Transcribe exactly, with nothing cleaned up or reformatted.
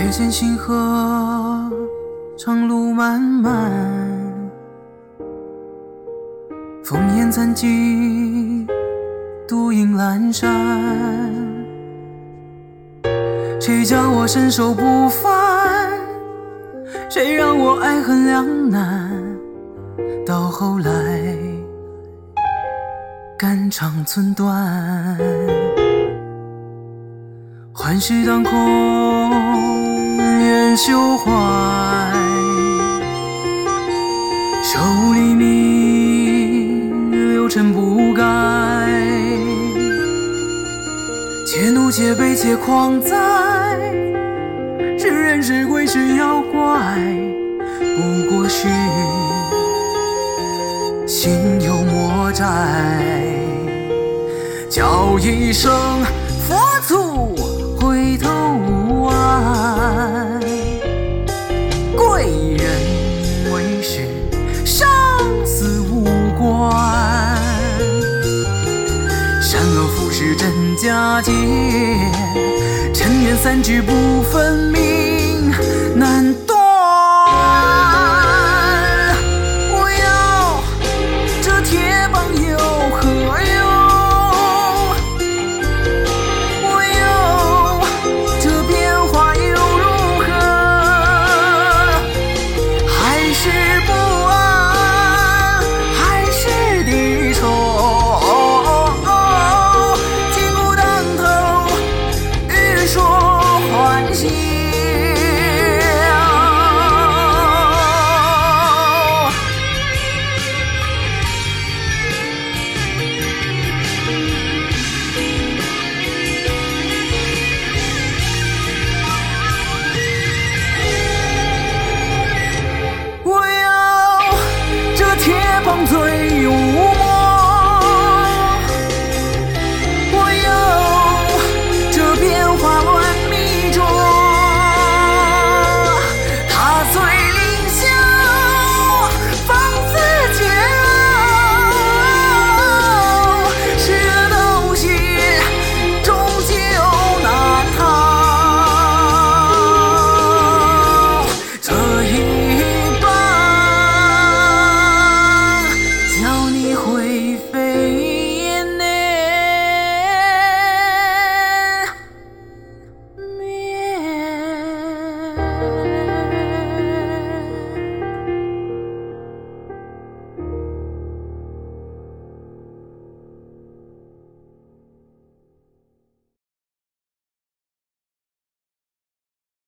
月见星河，长路漫漫，烽烟残尽，独影阑珊。谁叫我身手不凡？谁让我爱恨两难？到后来，肝肠寸断。幻世当空，愿休怀。手黎明，流尘不改。且怒且悲且狂哉，是人是鬼是妖怪，不过是心有魔债。叫一声佛祖回头望，贵人为师，生死无关。善恶浮世真假界，尘缘三聚不分明。